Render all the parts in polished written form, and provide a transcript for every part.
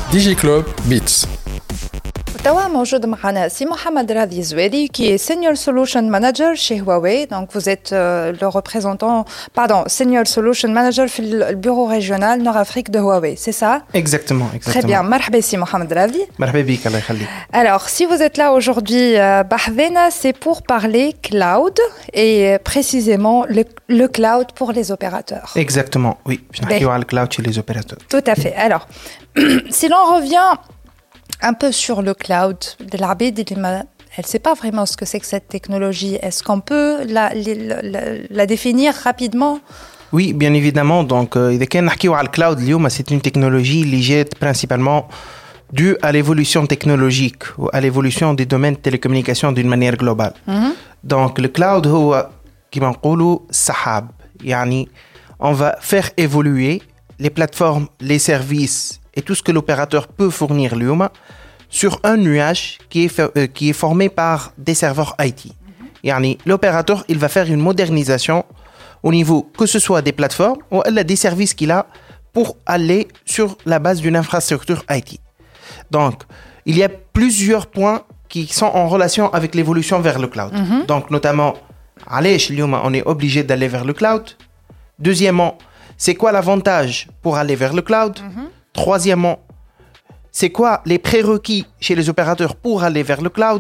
DigiClub Beats. توا موجود معنا سي محمد راضي زويدي qui est Senior Solution Manager chez Huawei. Donc vous êtes le représentant, Senior Solution Manager في le bureau régional Nord-Afrique de Huawei, c'est ça? Exactement. Très bien. مرحبا سي محمد راضي. مرحبا بك الله يخليك. Alors si vous êtes là aujourd'hui بحذنا, c'est pour parler cloud et précisément le cloud pour les opérateurs. Exactement, oui. Je vais parler du cloud chez les opérateurs. Tout à fait. Alors si l'on revient un peu sur le cloud de l'Arabie, elle ne sait pas vraiment ce que c'est que cette technologie. Est-ce qu'on peut la définir rapidement? Oui, bien évidemment. Donc, إذا كان نحكيو على الكلاود اليوم, c'est une technologie اللي جات principalement due à l'évolution technologique ou à l'évolution des domaines de télécommunications d'une manière globale. Donc, le cloud هو كما نقولوا السحاب. يعني, on va faire évoluer les plateformes, les services et tout ce que l'opérateur peut fournir l'IOMA sur un nuage qui est formé par des serveurs IT. Yani, l'opérateur, il va faire une modernisation au niveau que ce soit des plateformes ou des services qu'il a pour aller sur la base d'une infrastructure IT. Donc, il y a plusieurs points qui sont en relation avec l'évolution vers le cloud. Donc, notamment, on est obligé d'aller vers le cloud. Deuxièmement, c'est quoi l'avantage pour aller vers le cloud? Troisièmement, c'est quoi les prérequis chez les opérateurs pour aller vers le cloud?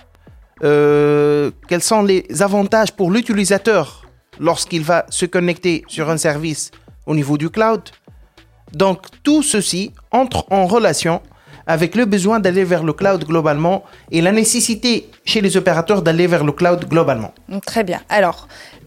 Quels sont les avantages pour l'utilisateur lorsqu'il va se connecter sur un service au niveau du cloud? Donc, tout ceci entre en relation avec le besoin d'aller vers le cloud globalement et la nécessité chez les opérateurs d'aller vers le cloud globalement. Très bien. Alors,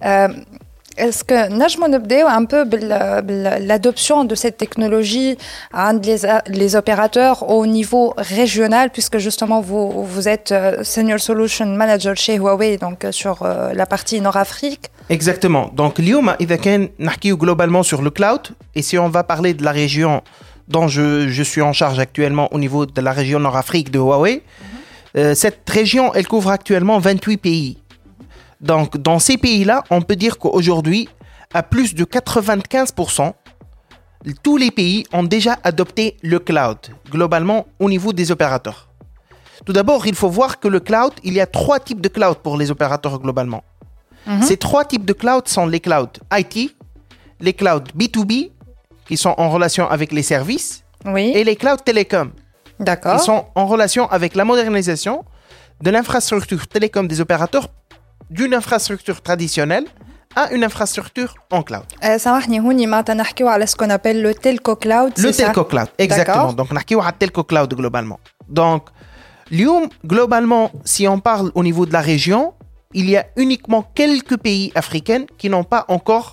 est-ce que نجمو نبداو un peu l'adoption de cette technologie عند les opérateurs au niveau régional, puisque justement vous êtes Senior Solution Manager chez Huawei, donc sur la partie Nord-Afrique? Exactement. Donc اليوم إذا كان نحكيو globalement sur le cloud, et si on va parler de la région dont je suis en charge actuellement au niveau de la région Nord-Afrique de Huawei, cette région elle couvre actuellement 28 pays. Donc, dans ces pays-là, on peut dire qu'aujourd'hui, à plus de 95%, tous les pays ont déjà adopté le cloud, globalement, au niveau des opérateurs. Tout d'abord, il faut voir que le cloud, il y a 3 types de cloud pour les opérateurs globalement. Ces 3 types de cloud sont les clouds IT, les clouds B2B, qui sont en relation avec les services, et les clouds télécom, qui sont en relation avec la modernisation de l'infrastructure télécom des opérateurs d'une infrastructure traditionnelle à une infrastructure en cloud. سامحني هوني معناتها نحكيو على ce qu'on appelle le telco cloud. Le telco cloud, exactement. Donc نحكيو على telco cloud globalement. Donc اليوم globalement, si on parle au niveau de la région, il y a uniquement quelques pays africains qui n'ont pas encore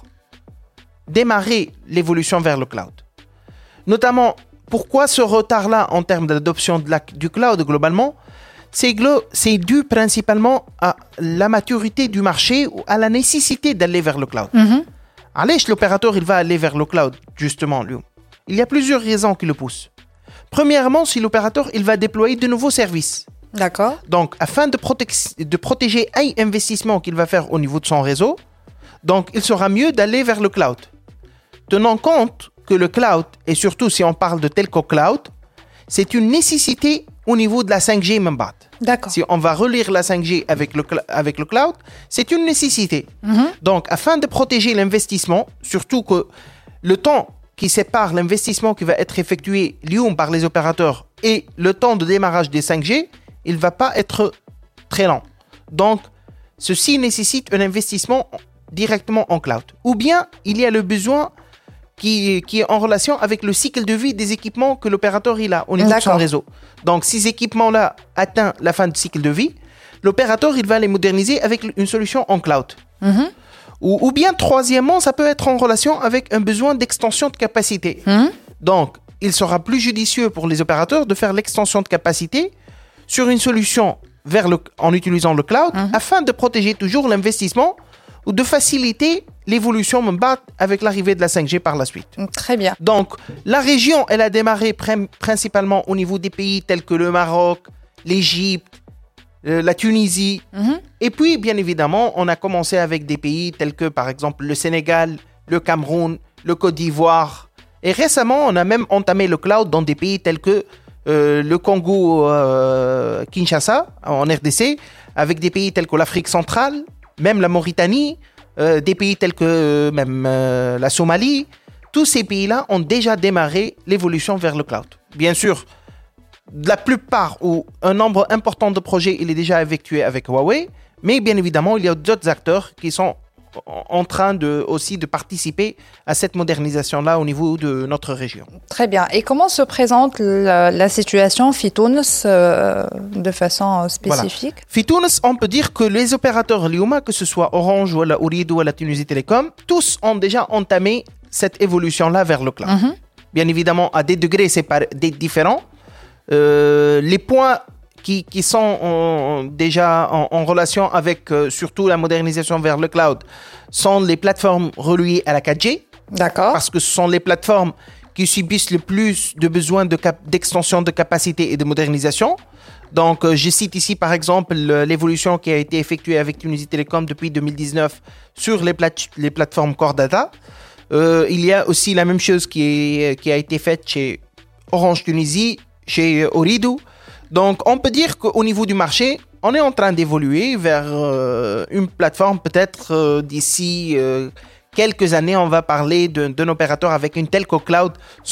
démarré l'évolution vers le cloud. Notamment, pourquoi ce retard-là en termes d'adoption du cloud globalement? C'est dû principalement à la maturité du marché ou à la nécessité d'aller vers le cloud. Allez, l'opérateur, il va aller vers le cloud, justement, lui. Il y a plusieurs raisons qui le poussent. Premièrement, si l'opérateur, il va déployer de nouveaux services. D'accord. Donc, afin de protéger un investissement qu'il va faire au niveau de son réseau, donc, il sera mieux d'aller vers le cloud. Tenant compte que le cloud, et surtout si on parle de telco cloud, c'est une nécessité au niveau de la 5G même pas. D'accord. Si on va relire la 5G avec le cloud, c'est une nécessité. Donc, afin de protéger l'investissement, surtout que le temps qui sépare l'investissement qui va être effectué par les opérateurs et le temps de démarrage des 5G, il ne va pas être très lent. Donc, ceci nécessite un investissement directement en cloud. Ou bien, il y a le besoin qui est en relation avec le cycle de vie des équipements que l'opérateur il a au niveau de son réseau. Donc, ces équipements-là atteignent la fin du cycle de vie, l'opérateur il va les moderniser avec une solution en cloud. Ou bien, troisièmement, ça peut être en relation avec un besoin d'extension de capacité. Donc, il sera plus judicieux pour les opérateurs de faire l'extension de capacité sur une solution en utilisant le cloud afin de protéger toujours l'investissement ou de faciliter l'évolution avec l'arrivée de la 5G par la suite. Très bien. Donc, la région, elle a démarré principalement au niveau des pays tels que le Maroc, l'Égypte, la Tunisie. Et puis, bien évidemment, on a commencé avec des pays tels que, par exemple, le Sénégal, le Cameroun, le Côte d'Ivoire, Et récemment, on a même entamé le cloud dans des pays tels que le Congo, Kinshasa, en RDC, avec des pays tels que l'Afrique centrale, même la Mauritanie, des pays tels que même la Somalie. Tous ces pays-là ont déjà démarré l'évolution vers le cloud. Bien sûr, la plupart ou un nombre important de projets, il est déjà effectué avec Huawei, mais bien évidemment, il y a d'autres acteurs qui sont en train aussi de participer à cette modernisation-là au niveau de notre région. Très bien. Et comment se présente la situation Fitounes de façon spécifique? Voilà. Fitounes, on peut dire que les opérateurs Lyouma, que ce soit Orange ou la Ooredoo ou la Tunisie Télécom, tous ont déjà entamé cette évolution-là vers le cloud. Bien évidemment, à des degrés différents. Les points qui sont déjà en relation avec surtout la modernisation vers le cloud sont les plateformes reliées à la 4G. D'accord. Parce que ce sont les plateformes qui subissent le plus de besoins d'extension de capacité et de modernisation. Donc, je cite ici par exemple l'évolution qui a été effectuée avec Tunisie Télécom depuis 2019 sur les plateformes Core Data. Il y a aussi la même chose qui a été faite chez Orange Tunisie, chez Ooredoo. Donc, on peut dire qu'au niveau du marché, on est en train d'évoluer vers une plateforme peut-être d'ici quelques années, on va parler d'un opérateur avec une telco cloud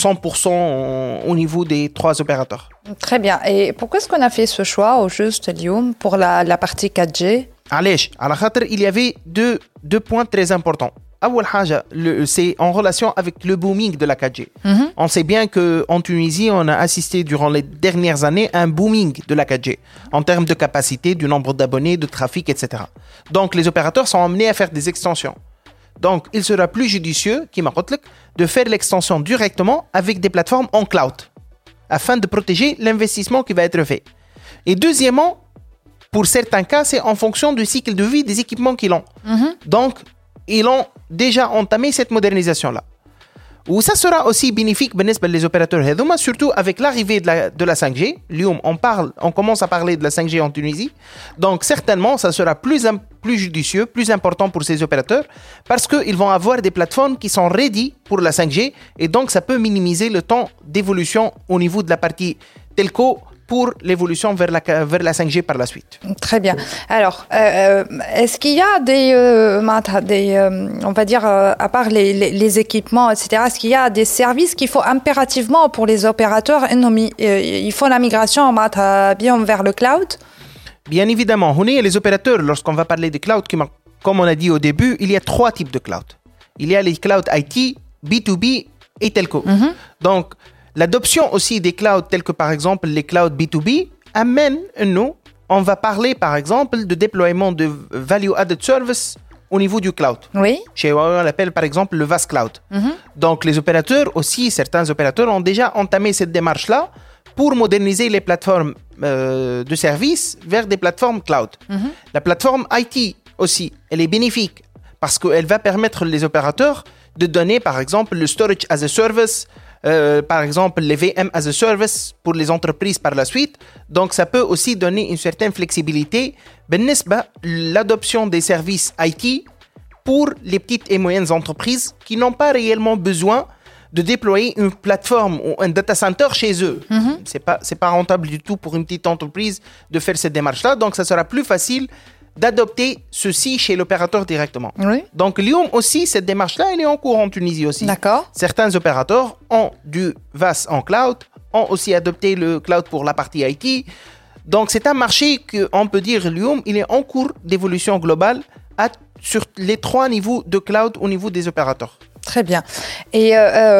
100% au niveau des 3 opérateurs. Très bien. Et pourquoi est-ce qu'on a fait ce choix au juste Lyoum pour la partie 4G? Allez, il y avait deux points très importants. C'est en relation avec le booming de la 4G. On sait bien qu'en Tunisie, on a assisté durant les dernières années à un booming de la 4G en termes de capacité, du nombre d'abonnés, de trafic, etc. Donc, les opérateurs sont amenés à faire des extensions. Donc, il sera plus judicieux de faire l'extension directement avec des plateformes en cloud afin de protéger l'investissement qui va être fait. Et deuxièmement, pour certains cas, c'est en fonction du cycle de vie des équipements qu'ils ont. Donc, ils ont déjà entamé cette modernisation-là. Ou ça sera aussi bénéfique pour les opérateurs Hedoma, surtout avec l'arrivée de la 5G. Lyoum, on commence à parler de la 5G en Tunisie. Donc, certainement, ça sera plus judicieux, plus important pour ces opérateurs parce qu'ils vont avoir des plateformes qui sont ready pour la 5G et donc ça peut minimiser le temps d'évolution au niveau de la partie telco pour l'évolution vers la 5G par la suite. Très bien. Alors, est-ce qu'il y a on va dire, à part les équipements, etc., est-ce qu'il y a des services qu'il faut impérativement pour les opérateurs? Il faut la migration bien vers le cloud? Bien évidemment. Les opérateurs, lorsqu'on va parler de cloud, comme on a dit au début, il y a 3 types de cloud. Il y a les clouds IT, B2B et telco. Donc, l'adoption aussi des clouds tels que par exemple les clouds B2B amène on va parler par exemple de déploiement de value added service au niveau du cloud. Oui. Chez Huawei, on l'appelle par exemple le VAS Cloud. Donc les opérateurs aussi, certains opérateurs ont déjà entamé cette démarche-là pour moderniser les plateformes de services vers des plateformes cloud. La plateforme IT aussi, elle est bénéfique parce qu'elle va permettre les opérateurs de donner par exemple le storage as a service, par exemple les VM as a service pour les entreprises par la suite. Donc ça peut aussi donner une certaine flexibilité l'adoption des services IT pour les petites et moyennes entreprises qui n'ont pas réellement besoin de déployer une plateforme ou un data center chez eux. C'est pas rentable du tout pour une petite entreprise de faire cette démarche-là. Donc ça sera plus facile d'adopter ceci chez l'opérateur directement. Oui. Donc Lyoum aussi, cette démarche-là, elle est en cours en Tunisie aussi. D'accord. Certains opérateurs ont du VAS en cloud, ont aussi adopté le cloud pour la partie IT. Donc c'est un marché qu'on peut dire Lyoum, il est en cours d'évolution globale sur les 3 niveaux de cloud au niveau des opérateurs. Très bien. Et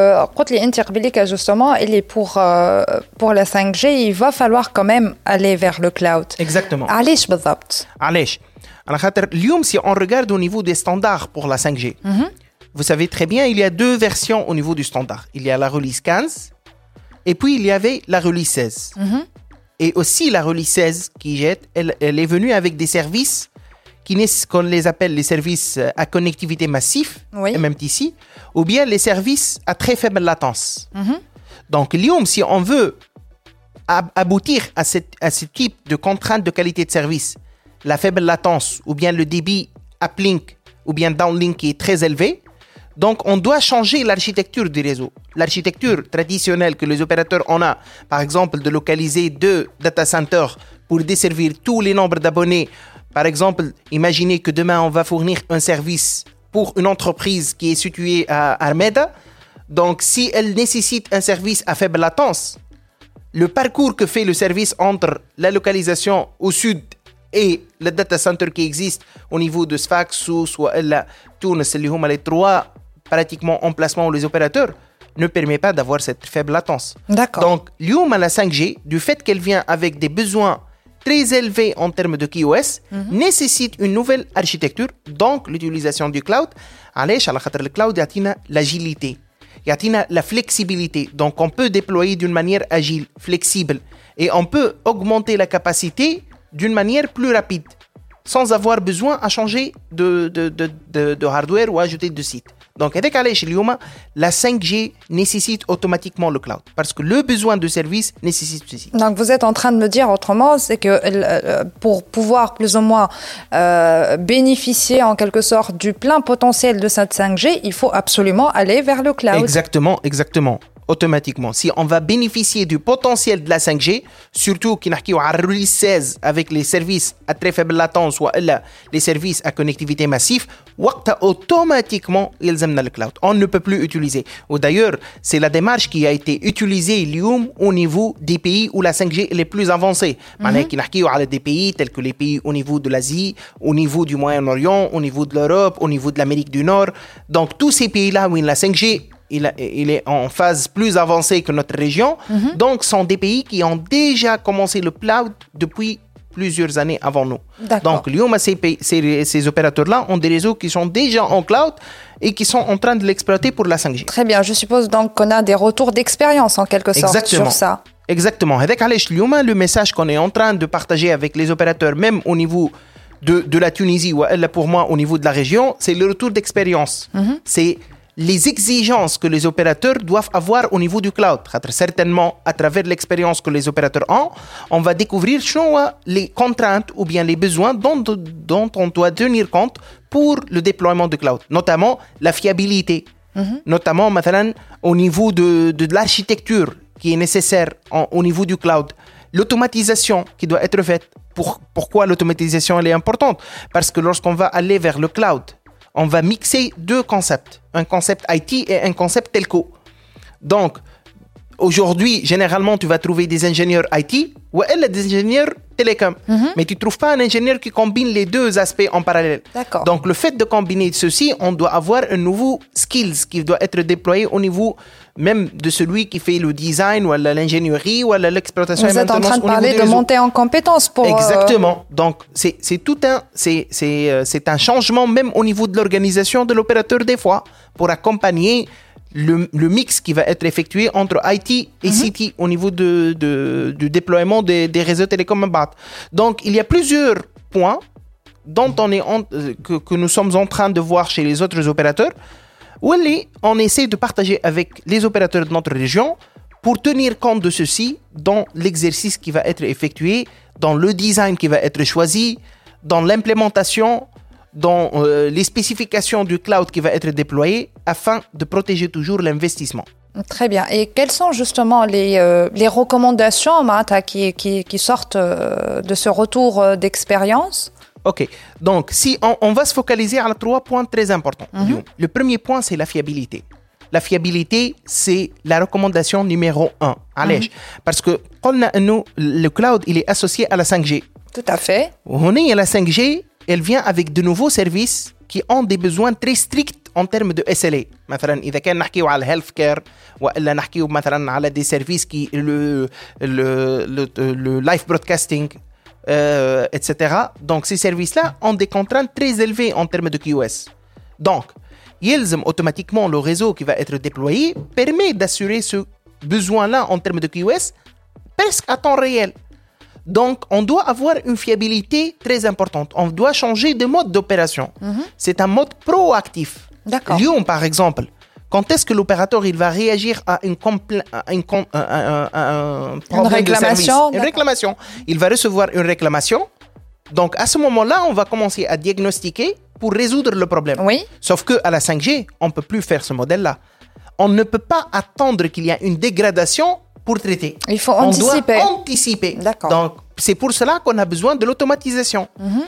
justement, il est pour la 5G, il va falloir quand même aller vers le cloud. Exactement. علاش بالضبط؟ علاش؟ على خاطر اليوم si on regarde au niveau des standards pour la 5G, vous savez très bien, il y a 2 versions au niveau du standard. Il y a la release 15 et puis il y avait la release 16. Et aussi la release 16 elle est venue avec des services qu'on les appelle les services à connectivité massif, oui. MMTC, ou bien les services à très faible latence. Donc, Lyoum, si on veut aboutir à ce type de contrainte de qualité de service, la faible latence, ou bien le débit uplink, ou bien downlink qui est très élevé, Donc, on doit changer l'architecture du réseau. L'architecture traditionnelle que les opérateurs ont, par exemple, de localiser 2 data centers pour desservir tous les nombres d'abonnés. Par exemple, imaginez que demain, on va fournir un service pour une entreprise qui est située à Armeda. Donc, si elle nécessite un service à faible latence, le parcours que fait le service entre la localisation au sud et le data center qui existe au niveau de Sfax ou soit la Tunis, les 3 pratiquement emplacements où les opérateurs ne permet pas d'avoir cette faible latence. D'accord. Donc, la 5G, du fait qu'elle vient avec des besoins très élevés en termes de QoS, nécessite une nouvelle architecture, donc l'utilisation du cloud. Le cloud a l'agilité, il a la flexibilité. Donc, on peut déployer d'une manière agile, flexible, et on peut augmenter la capacité d'une manière plus rapide, sans avoir besoin à changer de hardware ou ajouter de site. Donc, avec la 5G nécessite automatiquement le cloud parce que le besoin de service nécessite ceci. Donc, vous êtes en train de me dire autrement, c'est que pour pouvoir plus ou moins bénéficier en quelque sorte du plein potentiel de cette 5G, il faut absolument aller vers le cloud. Exactement. Automatiquement. Si on va bénéficier du potentiel de la 5G, surtout qui n'a qu'à release 16 avec les services à très faible latence ou les services à connectivité massive, automatiquement, ils amènent le cloud. On ne peut plus utiliser. Ou d'ailleurs, c'est la démarche qui a été utilisée au niveau des pays où la 5G est les plus avancée. Qui n'a qu'à des pays tels que les pays au niveau de l'Asie, au niveau du Moyen-Orient, au niveau de l'Europe, au niveau de l'Amérique du Nord. Donc, tous ces pays-là où la 5G il est en phase plus avancée que notre région. Donc, ce sont des pays qui ont déjà commencé le cloud depuis plusieurs années avant nous. Donc, ces opérateurs-là ont des réseaux qui sont déjà en cloud et qui sont en train de l'exploiter pour la 5G. Très bien. Je suppose donc qu'on a des retours d'expérience en quelque sorte sur ça. Exactement. Le message qu'on est en train de partager avec les opérateurs, même au niveau de la Tunisie ou pour moi au niveau de la région, c'est le retour d'expérience. C'est les exigences que les opérateurs doivent avoir au niveau du cloud. Certainement, à travers l'expérience que les opérateurs ont, on va découvrir les contraintes ou bien les besoins dont on doit tenir compte pour le déploiement du cloud, notamment la fiabilité, notamment au niveau de l'architecture qui est nécessaire au niveau du cloud, l'automatisation qui doit être faite. Pourquoi l'automatisation elle est importante? Parce que lorsqu'on va aller vers le cloud, on va mixer 2 concepts, un concept IT et un concept telco. Donc, aujourd'hui, généralement, tu vas trouver des ingénieurs IT ou des ingénieurs télécom. Mais tu ne trouves pas un ingénieur qui combine les 2 aspects en parallèle. D'accord. Donc, le fait de combiner ceci, on doit avoir un nouveau skills qui doit être déployé au niveau même de celui qui fait le design ou l'ingénierie ou l'exploitation et maintenance. Vous êtes en train de parler de monter en compétences pour... Exactement. Donc, c'est un changement même au niveau de l'organisation de l'opérateur des fois pour accompagner le mix qui va être effectué entre IT et CT au niveau du déploiement des réseaux télécoms. Donc, il y a plusieurs points dont que nous sommes en train de voir chez les autres opérateurs où on essaie de partager avec les opérateurs de notre région pour tenir compte de ceci dans l'exercice qui va être effectué, dans le design qui va être choisi, dans l'implémentation, dans les spécifications du cloud qui va être déployé afin de protéger toujours l'investissement. Très bien. Et quelles sont justement les recommandations qui sortent de ce retour d'expérience? Ok, donc si on va se focaliser sur 3 points très importants. Le premier point, c'est la fiabilité. La fiabilité, c'est la recommandation numéro 1. Parce que le cloud, il est associé à la 5G. Tout à fait. La 5G, elle vient avec de nouveaux services qui ont des besoins très stricts en termes de SLA. مثلا إذا كان نحكيو على الهيلث كير وإلا نحكيو مثلا على des services qui le live broadcasting, etc. Donc ces services-là ont des contraintes très élevées en termes de QoS. Donc, automatiquement, le réseau qui va être déployé permet d'assurer ce besoin-là en termes de QoS presque à temps réel. Donc, on doit avoir une fiabilité très importante. On doit changer de mode d'opération. C'est un mode proactif. D'accord. Lyon, par exemple, quand est-ce que l'opérateur il va réagir à un problème de service? Une réclamation. Il va recevoir une réclamation. Donc, à ce moment-là, on va commencer à diagnostiquer pour résoudre le problème. Oui. Sauf qu'à la 5G, on ne peut plus faire ce modèle-là. On ne peut pas attendre qu'il y ait une dégradation pour traiter. Il faut anticiper. On doit anticiper. D'accord. Donc, c'est pour cela qu'on a besoin de l'automatisation.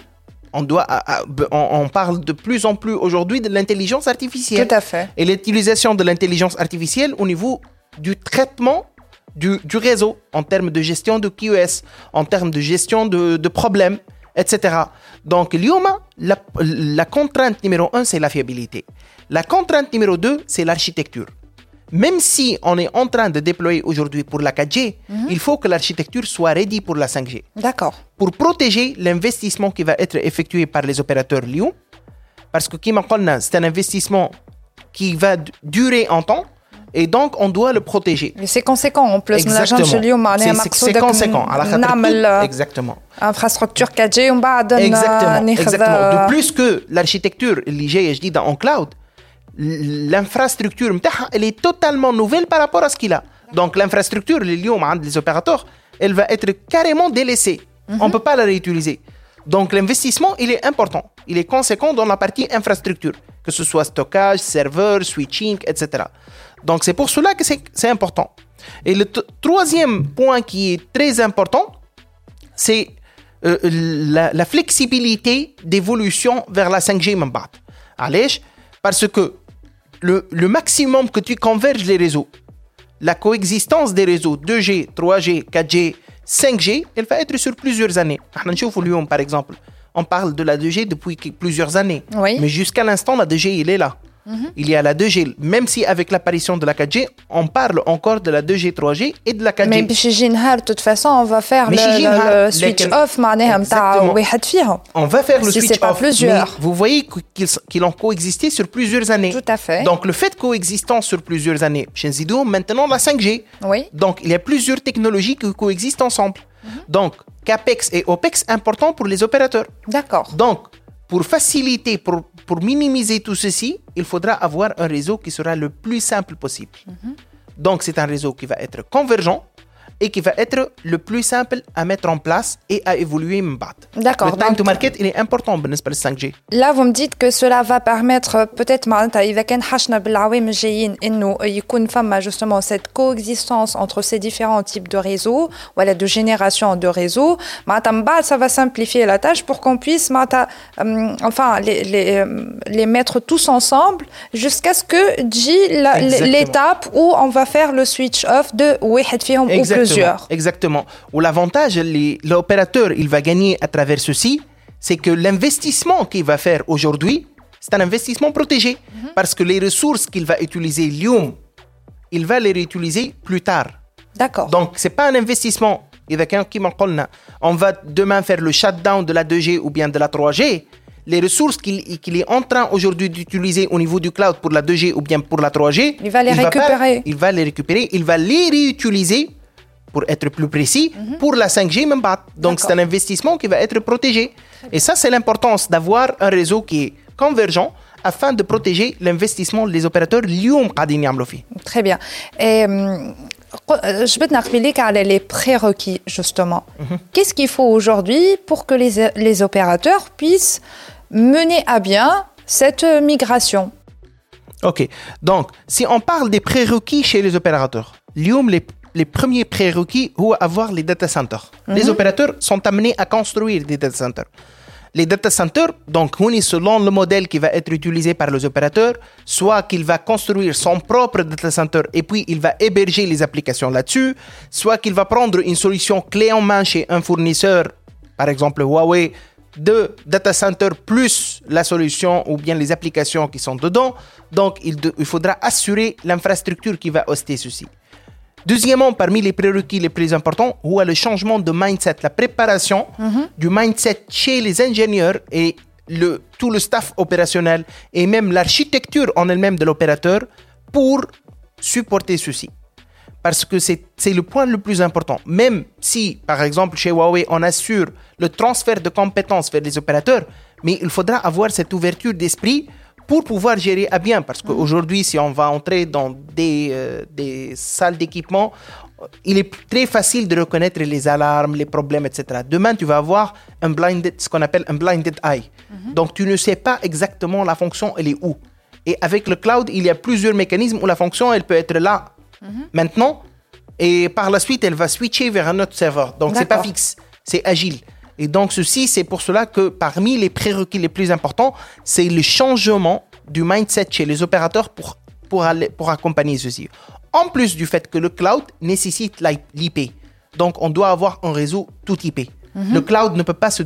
On parle de plus en plus aujourd'hui de l'intelligence artificielle. Tout à fait. Et l'utilisation de l'intelligence artificielle au niveau du traitement du réseau, en termes de gestion de QoS, en termes de gestion de problèmes, etc. Donc, la contrainte numéro 1, c'est la fiabilité. La contrainte numéro 2, c'est l'architecture. Même si on est en train de déployer aujourd'hui pour la 4G, il faut que l'architecture soit ready pour la 5G. D'accord. Pour protéger l'investissement qui va être effectué par les opérateurs Lyon, parce que c'est un investissement qui va durer en temps, et donc on doit le protéger. Mais c'est conséquent en plus. C'est conséquent. Exactement. Infrastructure 4G, on va exactement. De plus que l'architecture, je dis en cloud, l'infrastructure, elle est totalement nouvelle par rapport à ce qu'il a. Donc l'infrastructure, les opérateurs, elle va être carrément délaissée. On ne peut pas la réutiliser. Donc l'investissement, il est important. Il est conséquent dans la partie infrastructure, que ce soit stockage, serveur, switching, etc. Donc c'est pour cela que c'est important. Et le troisième point qui est très important, c'est la flexibilité d'évolution vers la 5G Mambat. Allez, parce que le maximum que tu converges les réseaux, la coexistence des réseaux 2G, 3G, 4G, 5G, elle va être sur plusieurs années. Par exemple, on parle de la 2G depuis plusieurs années. Oui. Mais jusqu'à l'instant, la 2G, il est là. Il y a la 2G, même si avec l'apparition de la 4G, on parle encore de la 2G, 3G et de la 4G. Mais de toute façon, on va faire le switch off. On va faire le si switch off. Plusieurs. Mais vous voyez qu'ils ont coexisté sur plusieurs années. Tout à fait. Donc le fait de coexistence sur plusieurs années, chez Zido, maintenant la 5G. Oui. Donc il y a plusieurs technologies qui coexistent ensemble. Donc CAPEX et OPEX importants pour les opérateurs. D'accord. Donc pour faciliter, pour minimiser tout ceci, il faudra avoir un réseau qui sera le plus simple possible. Donc c'est un réseau qui va être convergent et qui va être le plus simple à mettre en place et à évoluer. D'accord. Le time to market, il est important pour le 5G. Là, vous me dites que cela va permettre peut-être justement cette coexistence entre ces différents types de réseaux, voilà, de génération de réseaux. Ça va simplifier la tâche pour qu'on puisse les mettre tous ensemble jusqu'à ce que l'étape où on va faire le switch off de ou plusieurs. Exactement. Où l'avantage, l'opérateur, il va gagner à travers ceci, c'est que l'investissement qu'il va faire aujourd'hui, c'est un investissement protégé. Parce que les ressources qu'il va utiliser, il va les réutiliser plus tard. D'accord. Donc, ce n'est pas un investissement. On va demain faire le shutdown de la 2G ou bien de la 3G. Les ressources qu'il est en train aujourd'hui d'utiliser au niveau du cloud pour la 2G ou bien pour la 3G, il va les récupérer. Il va les récupérer, il va les réutiliser, pour être plus précis, pour la 5G même pas. Donc c'est un investissement qui va être protégé. Et ça, c'est l'importance d'avoir un réseau qui est convergent afin de protéger l'investissement des opérateurs. Très bien. Et je vais te parler les prérequis, justement. Qu'est-ce qu'il faut aujourd'hui pour que les opérateurs puissent mener à bien cette migration? Ok. Donc, si on parle des prérequis chez les opérateurs, les premiers prérequis, c'est avoir les data centers. Les opérateurs sont amenés à construire des data centers. Les data centers, donc, selon le modèle qui va être utilisé par les opérateurs, soit qu'il va construire son propre data center et puis il va héberger les applications là-dessus, soit qu'il va prendre une solution clé en main chez un fournisseur, par exemple Huawei, de data center plus la solution ou bien les applications qui sont dedans. Donc, il faudra assurer l'infrastructure qui va hoster ceci. Deuxièmement, parmi les prérequis les plus importants, le changement de mindset, la préparation du mindset chez les ingénieurs et tout le staff opérationnel et même l'architecture en elle-même de l'opérateur pour supporter ceci. Parce que c'est le point le plus important. Même si, par exemple, chez Huawei, on assure le transfert de compétences vers les opérateurs, mais il faudra avoir cette ouverture d'esprit pour pouvoir gérer à bien. Parce qu'aujourd'hui, si on va entrer dans des salles d'équipement, il est très facile de reconnaître les alarmes, les problèmes, etc. Demain, tu vas avoir ce qu'on appelle un blinded eye. Donc, tu ne sais pas exactement la fonction, elle est où. Et avec le cloud, il y a plusieurs mécanismes où la fonction, elle peut être là, maintenant, et par la suite, elle va switcher vers un autre serveur. Donc, c'est pas fixe, c'est agile. Et donc, ceci, c'est pour cela que parmi les prérequis les plus importants, c'est le changement du mindset chez les opérateurs pour accompagner ceci. En plus du fait que le cloud nécessite l'IP. Donc, on doit avoir un réseau tout IP. Le cloud ne peut pas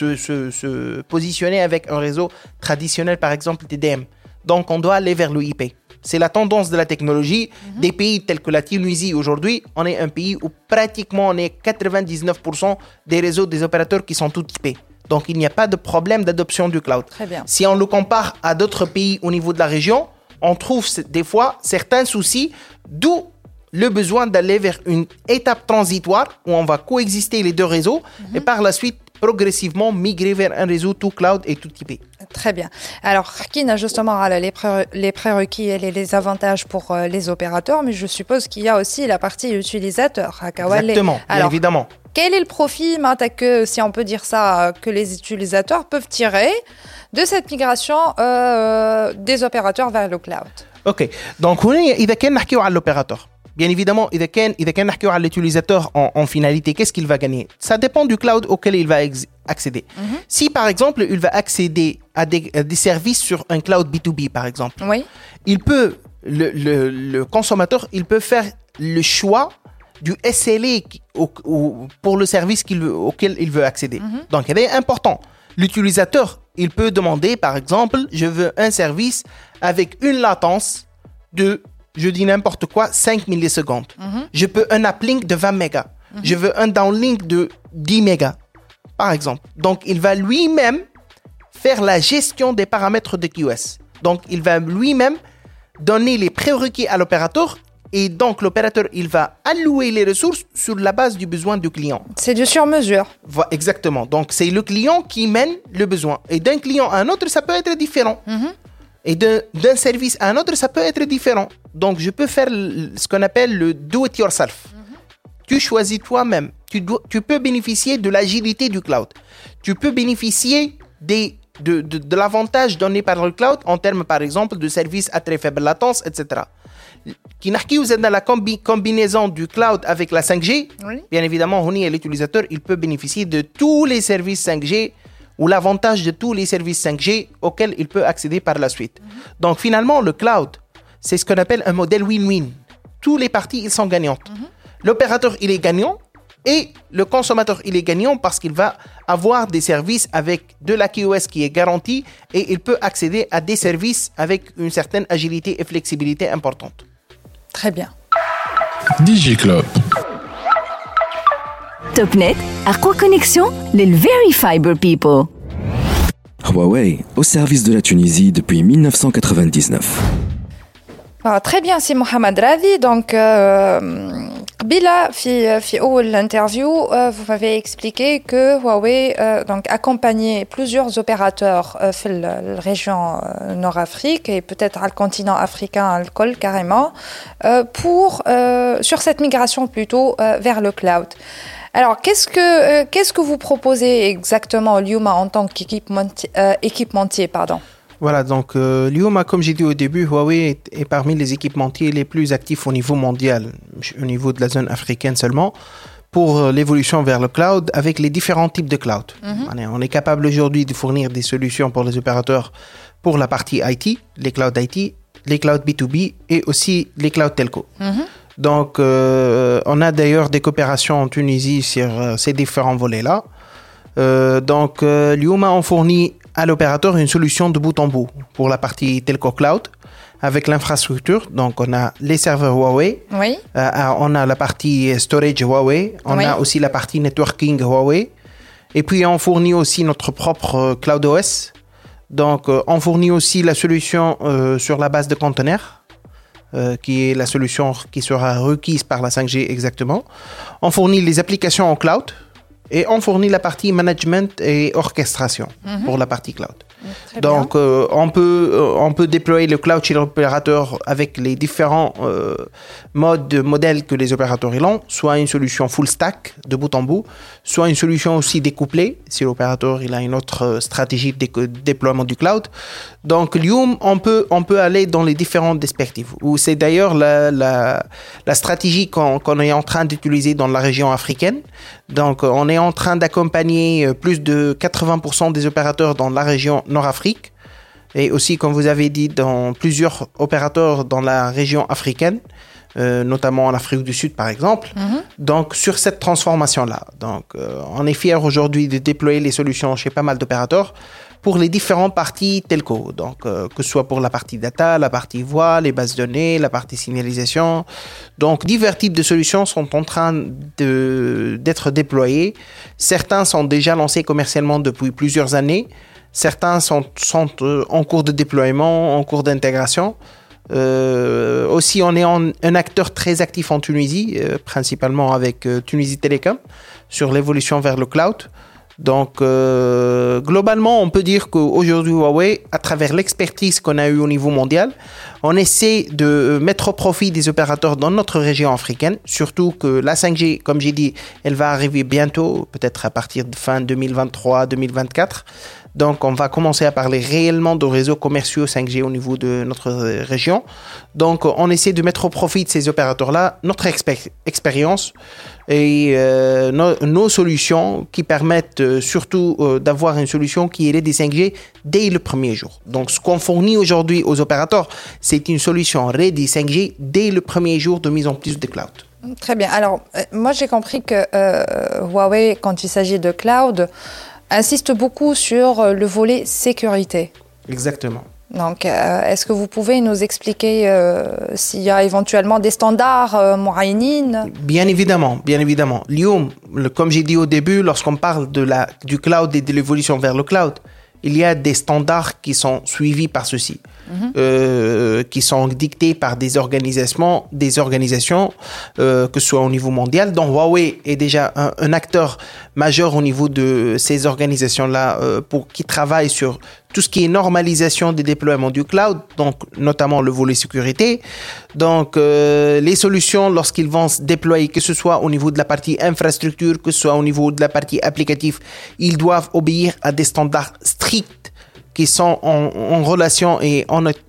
se positionner avec un réseau traditionnel, par exemple TDM. Donc, on doit aller vers le IP. C'est la tendance de la technologie. Des pays tels que la Tunisie aujourd'hui, on est un pays où pratiquement on est 99% des réseaux des opérateurs qui sont tout IP. Donc, il n'y a pas de problème d'adoption du cloud. Très bien. Si on le compare à d'autres pays au niveau de la région, on trouve des fois certains soucis, d'où le besoin d'aller vers une étape transitoire où on va coexister les deux réseaux et par la suite, progressivement migrer vers un réseau tout cloud et tout IP. Très bien. Alors, qui n'a justement les prérequis et les avantages pour les opérateurs, mais je suppose qu'il y a aussi la partie utilisateur. Exactement, bien évidemment. Quel est le profit, que, si on peut dire ça, que les utilisateurs peuvent tirer de cette migration des opérateurs vers le cloud? Ok. Donc, إذا كان نحكيو على l'opérateur. Bien évidemment, إذا كان نحكيو على l'utilisateur en finalité, qu'est-ce qu'il va gagner? Ça dépend du cloud auquel il va accéder. Si, par exemple, il va accéder à des services sur un cloud B2B, par exemple, il peut, le consommateur, il peut faire le choix du SLA pour le service auquel il veut accéder. Donc, il est important. L'utilisateur, il peut demander, par exemple, je veux un service avec une latence de, je dis n'importe quoi, 5 millisecondes. Je peux un uplink de 20 mégas. Je veux un downlink de 10 mégas, par exemple. Donc, il va lui-même faire la gestion des paramètres de QoS. Donc, il va lui-même donner les prérequis à l'opérateur. Et donc, l'opérateur, il va allouer les ressources sur la base du besoin du client. C'est du sur-mesure. Exactement. Donc, c'est le client qui mène le besoin. Et d'un client à un autre, ça peut être différent. Et d'un service à un autre, ça peut être différent. Donc, je peux faire ce qu'on appelle le do-it-yourself. Tu choisis toi-même. Tu peux bénéficier de l'agilité du cloud. Tu peux bénéficier de l'avantage donné par le cloud en termes, par exemple, de services à très faible latence, etc. Qui vous êtes dans la combinaison du cloud avec la 5G, bien évidemment, l'utilisateur, il peut bénéficier de tous les services 5G ou l'avantage de tous les services 5G auxquels il peut accéder par la suite. Donc, finalement, le cloud, c'est ce qu'on appelle un modèle win-win. Tous les parties, ils sont gagnantes. L'opérateur, il est gagnant et le consommateur, il est gagnant parce qu'il va avoir des services avec de la QoS qui est garantie et il peut accéder à des services avec une certaine agilité et flexibilité importante. Très bien. DigiClub. Topnet, أقوى connexion les Very Fiber People. Huawei, au service de la Tunisie depuis 1999. Très bien, c'est Mohamed Radi. Donc, Bila, في أول interview, vous m'avez expliqué que Huawei donc accompagnait plusieurs opérateurs dans la région Nord-Afrique et peut-être à le continent africain, le col carrément, sur cette migration plutôt vers le cloud. Alors, qu'est-ce que vous proposez exactement Lyuma en tant qu'équipementier, Voilà, donc Lyuma, comme j'ai dit au début, Huawei est parmi les équipementiers les plus actifs au niveau mondial, au niveau de la zone africaine seulement, pour l'évolution vers le cloud avec les différents types de cloud. On est capable aujourd'hui de fournir des solutions pour les opérateurs pour la partie IT, les clouds IT, les clouds B2B et aussi les clouds telco. Donc, on a d'ailleurs des coopérations en Tunisie sur ces différents volets-là. Donc, Lyuma, on fournit à l'opérateur une solution de bout en bout pour la partie telco cloud avec l'infrastructure. Donc, on a les serveurs Huawei, on a la partie storage Huawei, on a aussi la partie networking Huawei. Et puis, on fournit aussi notre propre Cloud OS. Donc, on fournit aussi la solution sur la base de conteneurs. Qui est la solution qui sera requise par la 5G exactement. On fournit les applications en cloud et on fournit la partie management et orchestration pour la partie cloud. Donc, on peut déployer le cloud chez l'opérateur avec les différents modèles que les opérateurs ont, soit une solution full stack de bout en bout, soit une solution aussi découplée si l'opérateur il a une autre stratégie de déploiement du cloud. Donc, Lioum, on peut aller dans les différentes perspectives. C'est d'ailleurs la stratégie qu'on est en train d'utiliser dans la région africaine. Donc, on est en train d'accompagner plus de 80% des opérateurs dans la région Nord-Afrique et aussi, comme vous avez dit, dans plusieurs opérateurs dans la région africaine, notamment en Afrique du Sud, par exemple. Donc, sur cette transformation-là. Donc, on est fiers aujourd'hui de déployer les solutions chez pas mal d'opérateurs pour les différentes parties telco. Donc, que ce soit pour la partie data, la partie voix, les bases de données, la partie signalisation. Donc, divers types de solutions sont en train d'être déployés. Certains sont déjà lancés commercialement depuis plusieurs années. Certains sont en cours de déploiement, en cours d'intégration. Aussi, on est un acteur très actif en Tunisie, principalement avec Tunisie Télécom, sur l'évolution vers le cloud. Donc, globalement, on peut dire qu'aujourd'hui, Huawei, à travers l'expertise qu'on a eue au niveau mondial, on essaie de mettre au profit des opérateurs dans notre région africaine, surtout que la 5G, comme j'ai dit, elle va arriver bientôt, peut-être à partir de fin 2023-2024. Donc, on va commencer à parler réellement de réseaux commerciaux 5G au niveau de notre région. Donc, on essaie de mettre au profit de ces opérateurs-là notre expérience et nos solutions qui permettent surtout d'avoir une solution qui est ready 5G dès le premier jour. Donc, ce qu'on fournit aujourd'hui aux opérateurs, c'est une solution ready 5G dès le premier jour de mise en place de cloud. Très bien. Alors, moi, j'ai compris que Huawei, quand il s'agit de cloud, insiste beaucoup sur le volet sécurité. Exactement. Donc, est-ce que vous pouvez nous expliquer s'il y a éventuellement des standards moyennes ? Bien évidemment. Lioum, comme j'ai dit au début, lorsqu'on parle du cloud et de l'évolution vers le cloud, il y a des standards qui sont suivis par ceux-ci, qui sont dictés par des organisations, que ce soit au niveau mondial. Donc Huawei est déjà un acteur majeur au niveau de ces organisations-là qui travaillent sur tout ce qui est normalisation des déploiements du cloud, donc notamment le volet sécurité. Donc les solutions, lorsqu'ils vont se déployer, que ce soit au niveau de la partie infrastructure, que ce soit au niveau de la partie applicative, ils doivent obéir à des standards stricts qui sont en relation et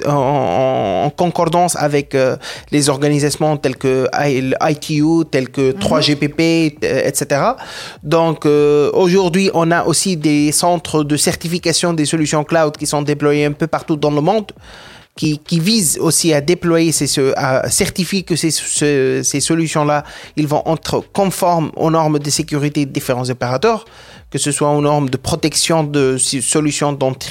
en concordance avec les organisations telles que ITU, telles que 3GPP, etc. Donc, aujourd'hui, on a aussi des centres de certification des solutions cloud qui sont déployés un peu partout dans le monde, qui visent aussi à déployer, à certifier que ces solutions-là, ils vont être conformes aux normes de sécurité des différents opérateurs, que ce soit aux normes de protection de solutions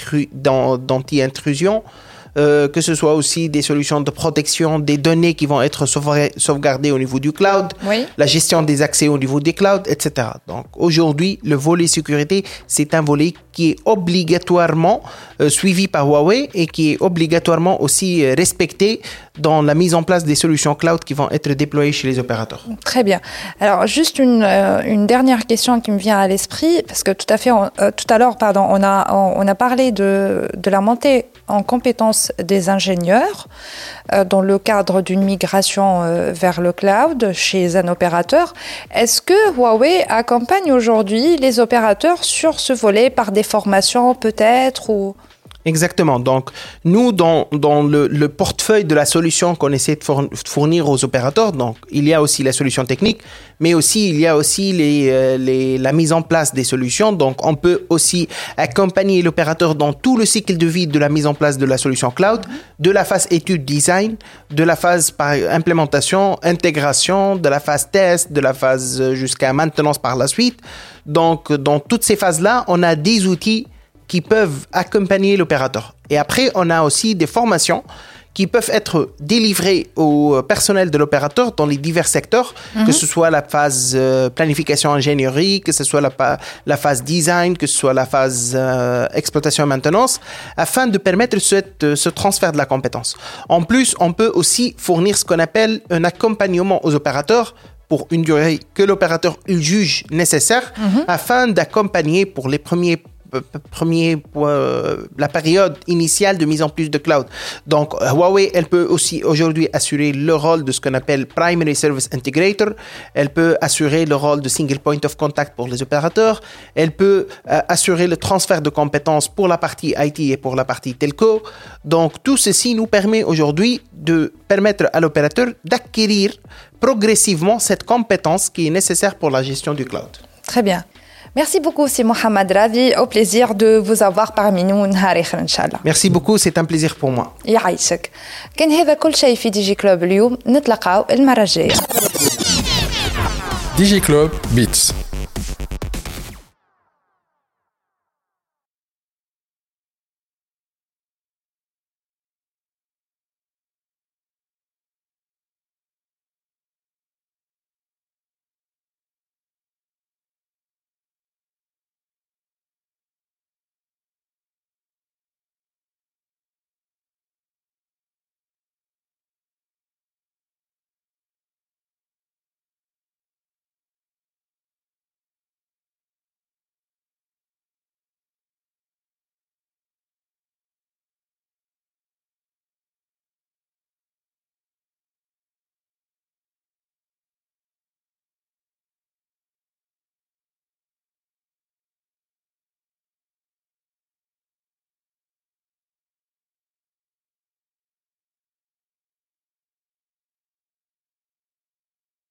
d'anti-intrusion, que ce soit aussi des solutions de protection des données qui vont être sauvegardées au niveau du cloud, la gestion des accès au niveau des clouds, etc. Donc aujourd'hui, le volet sécurité, c'est un volet qui est obligatoirement suivi par Huawei et qui est obligatoirement aussi respecté dans la mise en place des solutions cloud qui vont être déployées chez les opérateurs. Très bien. Alors, juste une dernière question qui me vient à l'esprit, parce que tout à l'heure, on a parlé de la montée en compétences des ingénieurs dans le cadre d'une migration vers le cloud chez un opérateur. Est-ce que Huawei accompagne aujourd'hui les opérateurs sur ce volet par des formations peut-être ou... Exactement. Donc, nous, dans le portefeuille de la solution qu'on essaie de fournir aux opérateurs, donc, il y a aussi la solution technique, mais aussi, il y a aussi la mise en place des solutions. Donc, on peut aussi accompagner l'opérateur dans tout le cycle de vie de la mise en place de la solution cloud, de la phase étude design, de la phase par implémentation, intégration, de la phase test, de la phase jusqu'à maintenance par la suite. Donc, dans toutes ces phases-là, on a des outils qui peuvent accompagner l'opérateur. Et après, on a aussi des formations qui peuvent être délivrées au personnel de l'opérateur dans les divers secteurs, que ce soit la phase planification ingénierie, que ce soit la phase design, que ce soit la phase exploitation et maintenance, afin de permettre ce transfert de la compétence. En plus, on peut aussi fournir ce qu'on appelle un accompagnement aux opérateurs pour une durée que l'opérateur juge nécessaire, afin d'accompagner pour les premiers la période initiale de mise en place de cloud. Donc, Huawei, elle peut aussi aujourd'hui assurer le rôle de ce qu'on appelle Primary Service Integrator. Elle peut assurer le rôle de Single Point of Contact pour les opérateurs. Elle peut assurer le transfert de compétences pour la partie IT et pour la partie telco. Donc, tout ceci nous permet aujourd'hui de permettre à l'opérateur d'acquérir progressivement cette compétence qui est nécessaire pour la gestion du cloud. Très bien. Merci beaucoup, c'est Mohamed Ravi. Au plaisir de vous avoir parmi nous. Inch'Allah. Merci beaucoup, c'est un plaisir pour moi. يعيشك. كان هذا كل شيء في دي جي كلوب اليوم. نتلاقاو المرة الجاية. دي جي كلوب بيتس